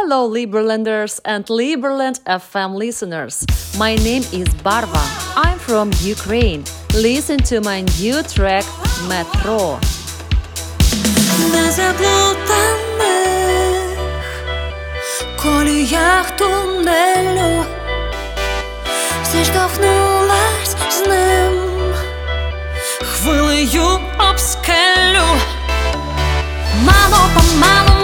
Hello Liberlanders and Liberland FM listeners. My name is Barva. I'm from Ukraine. Listen to my new track Metro. На заплутаних коліях тунелю зіштовхнулась з ним хвилею об скелю. Мало-помалу